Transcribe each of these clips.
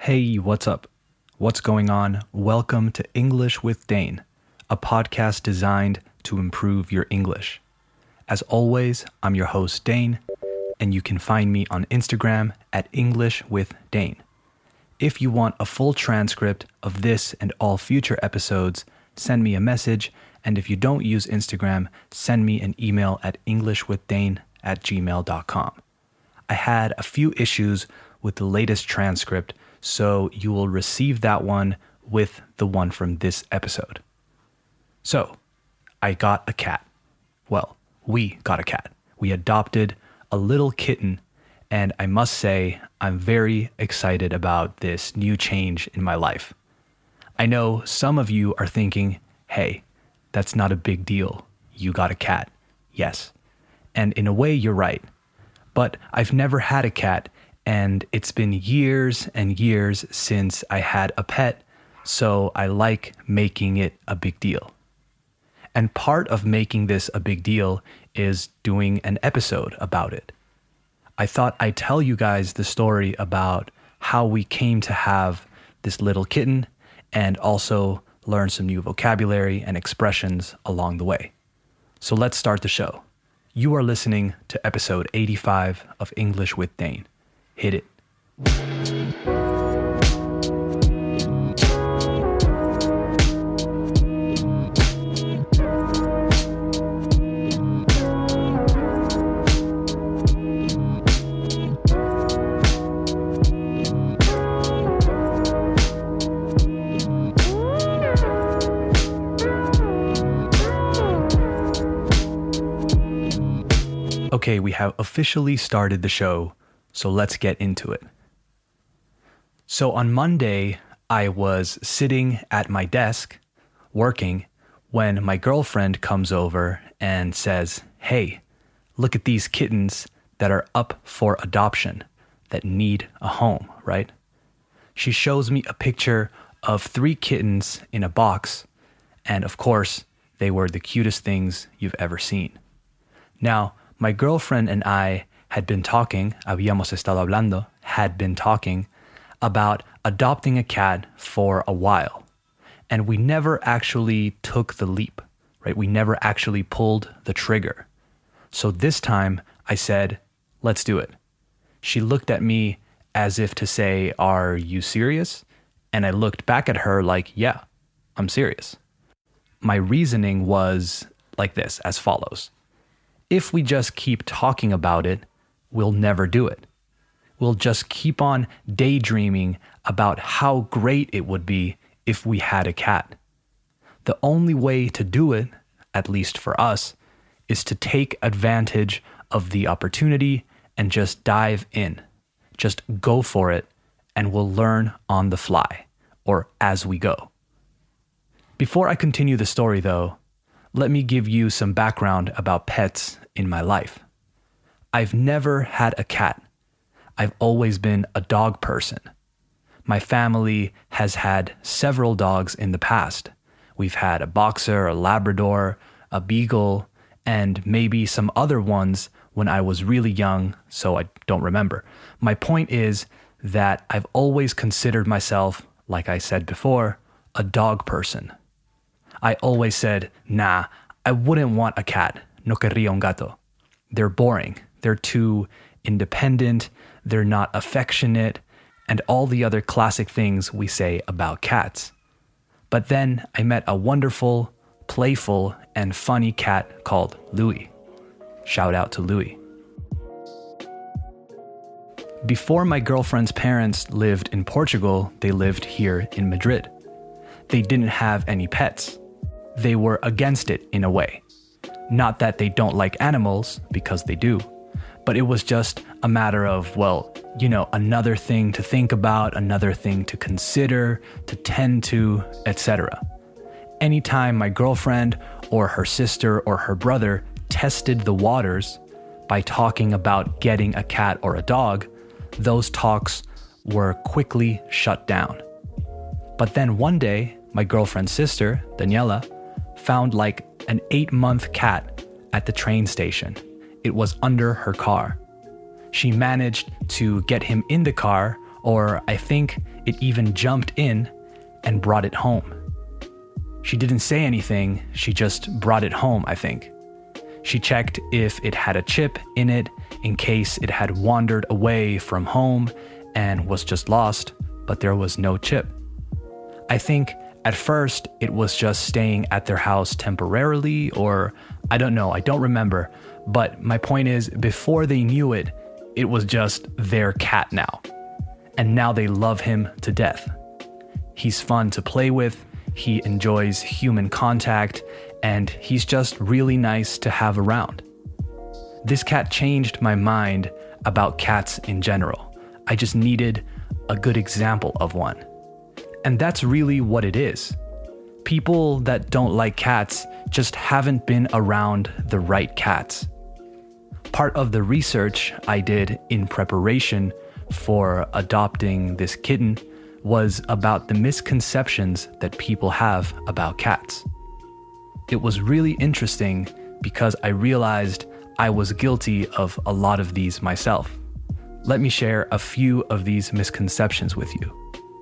Hey, what's up? What's going on? Welcome to English with Dane, a podcast designed to improve your English. As always, I'm your host, Dane, and you can find me on Instagram at English with Dane. If you want a full transcript of this and all future episodes, send me a message, and if you don't use Instagram, send me an email at englishwithdane@gmail.com. I had a few issues with the latest transcript, so you will receive that one with the one from this episode. So, I got a cat. Well, we got a cat. We adopted a little kitten, and I must say, I'm very excited about this new change in my life. I know some of you are thinking, hey, that's not a big deal. You got a cat. Yes. And in a way, you're right. But I've never had a cat, and it's been years and years since I had a pet, so I like making it a big deal. And part of making this a big deal is doing an episode about it. I thought I'd tell you guys the story about how we came to have this little kitten and also learn some new vocabulary and expressions along the way. So let's start the show. You are listening to episode 85 of English with Dane. Hit it. Okay, we have officially started the show, so let's get into it. So on Monday, I was sitting at my desk, working, when my girlfriend comes over and says, hey, look at these kittens that are up for adoption, that need a home, right? She shows me a picture of 3 kittens in a box, and of course, they were the cutest things you've ever seen. Now, my girlfriend and I had been talking about adopting a cat for a while. And we never actually took the leap, right? We never actually pulled the trigger. So this time I said, let's do it. She looked at me as if to say, are you serious? And I looked back at her like, yeah, I'm serious. My reasoning was like this, as follows. If we just keep talking about it, we'll never do it. We'll just keep on daydreaming about how great it would be if we had a cat. The only way to do it, at least for us, is to take advantage of the opportunity and just dive in. Just go for it, and we'll learn on the fly, or as we go. Before I continue the story, though, let me give you some background about pets in my life. I've never had a cat. I've always been a dog person. My family has had several dogs in the past. We've had a boxer, a Labrador, a beagle, and maybe some other ones when I was really young, so I don't remember. My point is that I've always considered myself, like I said before, a dog person. I always said, nah, I wouldn't want a cat. No querría un gato. They're boring. They're too independent. They're not affectionate, and all the other classic things we say about cats. But then I met a wonderful, playful, and funny cat called Louis. Shout out to Louis. Before my girlfriend's parents lived in Portugal, they lived here in Madrid. They didn't have any pets. They were against it in a way. Not that they don't like animals, because they do, but it was just a matter of, well, you know, another thing to think about, another thing to consider, to tend to, etc. Anytime my girlfriend or her sister or her brother tested the waters by talking about getting a cat or a dog, those talks were quickly shut down. But then one day, my girlfriend's sister, Daniela, found like an 8-month cat at the train station. It was under her car. She managed to get him in the car or I think it even jumped in and brought it home. She didn't say anything, she just brought it home, I think. She checked if it had a chip in it in case it had wandered away from home and was just lost, but there was no chip. I think at first it was just staying at their house temporarily, or I don't know, I don't remember. But my point is, before they knew it, it was just their cat now. And now they love him to death. He's fun to play with, he enjoys human contact, and he's just really nice to have around. This cat changed my mind about cats in general. I just needed a good example of one. And that's really what it is. People that don't like cats just haven't been around the right cats. Part of the research I did in preparation for adopting this kitten was about the misconceptions that people have about cats. It was really interesting because I realized I was guilty of a lot of these myself. Let me share a few of these misconceptions with you.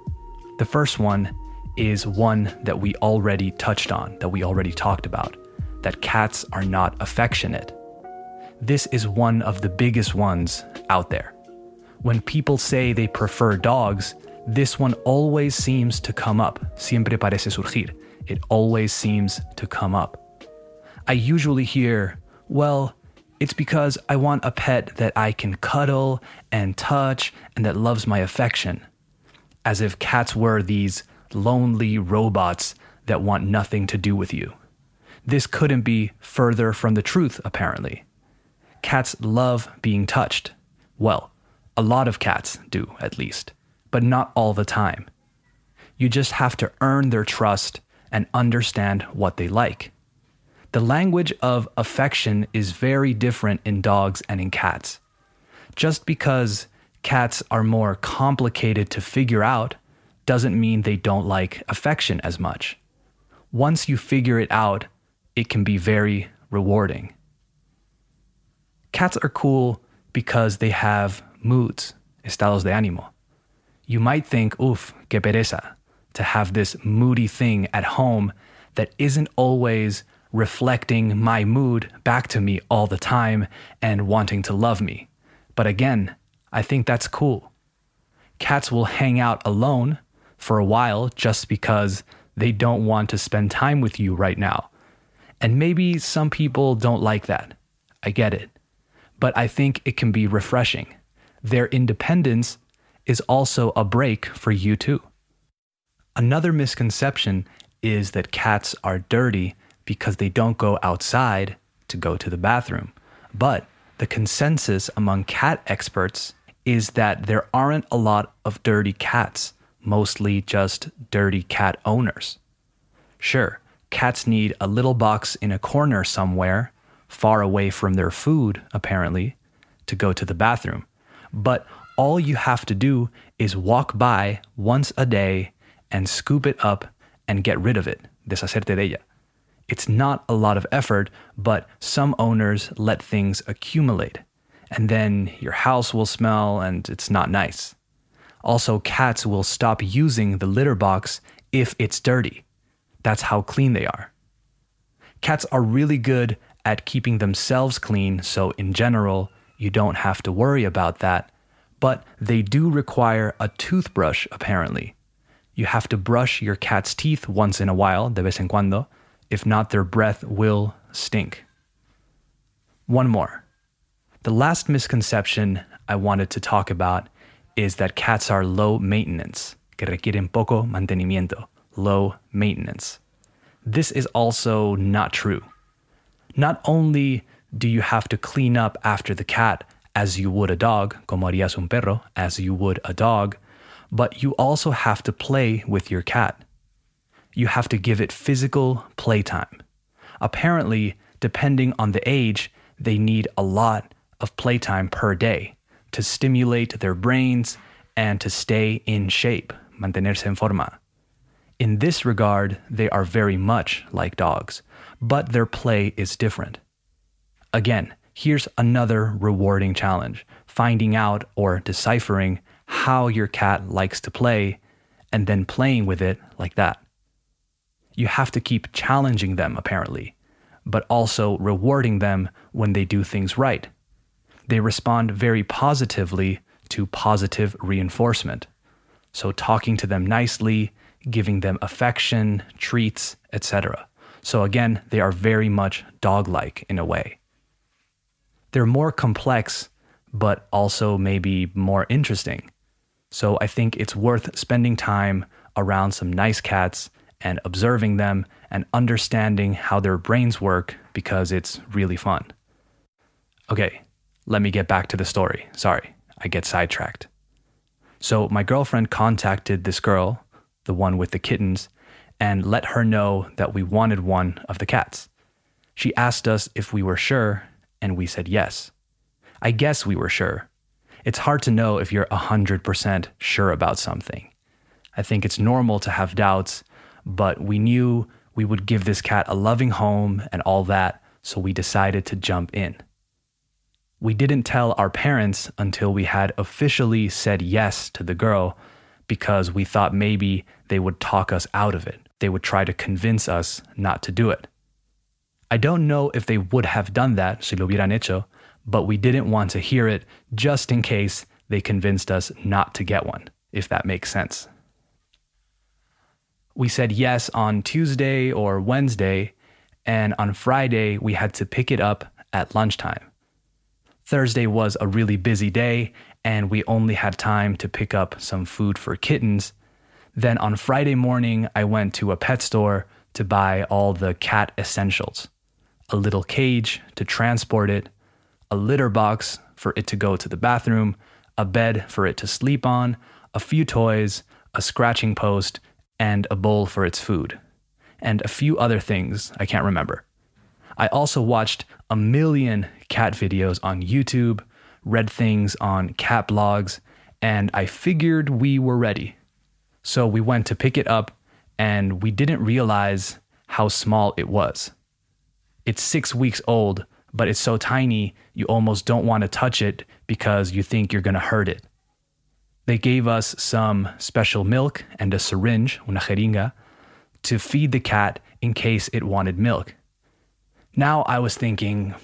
The first one is one that we already touched on, that we already talked about, that cats are not affectionate. This is one of the biggest ones out there. When people say they prefer dogs, this one always seems to come up. Siempre parece surgir. It always seems to come up. I usually hear, well, it's because I want a pet that I can cuddle and touch and that loves my affection. As if cats were these lonely robots that want nothing to do with you. This couldn't be further from the truth, apparently. Cats love being touched. Well, a lot of cats do, at least, but not all the time. You just have to earn their trust and understand what they like. The language of affection is very different in dogs and in cats. Just because cats are more complicated to figure out doesn't mean they don't like affection as much. Once you figure it out, it can be very rewarding. Cats are cool because they have moods, estados de ánimo. You might think, oof, que pereza, to have this moody thing at home that isn't always reflecting my mood back to me all the time and wanting to love me. But again, I think that's cool. Cats will hang out alone for a while just because they don't want to spend time with you right now. And maybe some people don't like that. I get it. But I think it can be refreshing. Their independence is also a break for you too. Another misconception is that cats are dirty because they don't go outside to go to the bathroom. But the consensus among cat experts is that there aren't a lot of dirty cats, mostly just dirty cat owners. Sure, cats need a little box in a corner somewhere, far away from their food, apparently, to go to the bathroom. But all you have to do is walk by once a day and scoop it up and get rid of it, deshacerte de ella. It's not a lot of effort, but some owners let things accumulate, and then your house will smell and it's not nice. Also, cats will stop using the litter box if it's dirty. That's how clean they are. Cats are really good at keeping themselves clean, so in general, you don't have to worry about that. But they do require a toothbrush, apparently. You have to brush your cat's teeth once in a while, de vez en cuando. If not, their breath will stink. One more. The last misconception I wanted to talk about is that cats are low maintenance, que requieren poco mantenimiento, low maintenance. This is also not true. Not only do you have to clean up after the cat as you would a dog, como harías un perro, as you would a dog, but you also have to play with your cat. You have to give it physical playtime. Apparently, depending on the age, they need a lot of playtime per day to stimulate their brains and to stay in shape, mantenerse en forma. In this regard, they are very much like dogs, but their play is different. Again, here's another rewarding challenge, finding out or deciphering how your cat likes to play and then playing with it like that. You have to keep challenging them, apparently, but also rewarding them when they do things right. They respond very positively to positive reinforcement. So talking to them nicely, giving them affection, treats, etc. So again, they are very much dog-like in a way. They're more complex, but also maybe more interesting. So I think it's worth spending time around some nice cats and observing them and understanding how their brains work because it's really fun. Okay, let me get back to the story. Sorry, I get sidetracked. So my girlfriend contacted this girl, the one with the kittens, and let her know that we wanted one of the cats. She asked us if we were sure, and we said yes. I guess we were sure. It's hard to know if you're 100% sure about something. I think it's normal to have doubts, but we knew we would give this cat a loving home and all that, so we decided to jump in. We didn't tell our parents until we had officially said yes to the girl because we thought maybe they would talk us out of it. They would try to convince us not to do it. I don't know if they would have done that, si lo hubieran hecho, but we didn't want to hear it just in case they convinced us not to get one, if that makes sense. We said yes on Tuesday or Wednesday, and on Friday we had to pick it up at lunchtime. Thursday was a really busy day, and we only had time to pick up some food for kittens. Then on Friday morning, I went to a pet store to buy all the cat essentials. A little cage to transport it, a litter box for it to go to the bathroom, a bed for it to sleep on, a few toys, a scratching post, and a bowl for its food. And a few other things I can't remember. I also watched a million cat videos on YouTube, read things on cat blogs, and I figured we were ready. So we went to pick it up, and we didn't realize how small it was. It's 6 weeks old, but it's so tiny you almost don't want to touch it because you think you're going to hurt it. They gave us some special milk and a syringe, una jeringa, to feed the cat in case it wanted milk. Now I was thinking,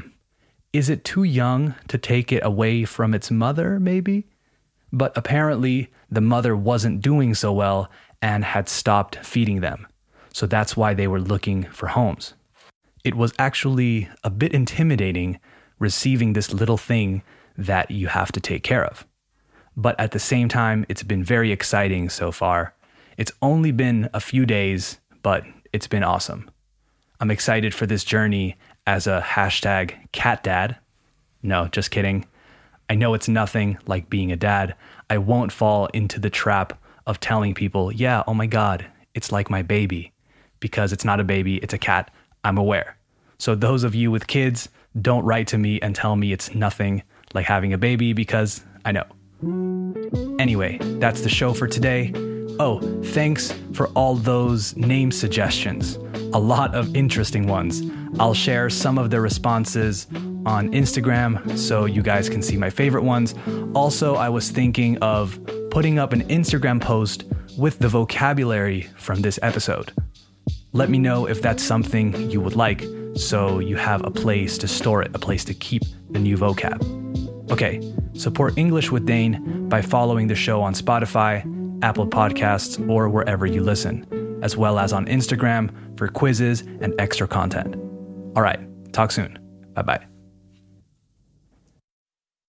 is it too young to take it away from its mother, maybe? But apparently the mother wasn't doing so well and had stopped feeding them. So that's why they were looking for homes. It was actually a bit intimidating receiving this little thing that you have to take care of. But at the same time, it's been very exciting so far. It's only been a few days, but it's been awesome. I'm excited for this journey as a #catdad. No, just kidding. I know it's nothing like being a dad. I won't fall into the trap of telling people, yeah, oh my God, it's like my baby. Because it's not a baby, it's a cat. I'm aware. So those of you with kids, don't write to me and tell me it's nothing like having a baby because I know. Anyway, that's the show for today. Oh, thanks for all those name suggestions. A lot of interesting ones. I'll share some of the responses on Instagram so you guys can see my favorite ones. Also, I was thinking of putting up an Instagram post with the vocabulary from this episode. Let me know if that's something you would like so you have a place to store it, a place to keep the new vocab. Okay, support English with Dane by following the show on Spotify, Apple Podcasts, or wherever you listen, as well as on Instagram for quizzes and extra content. All right, talk soon. Bye-bye.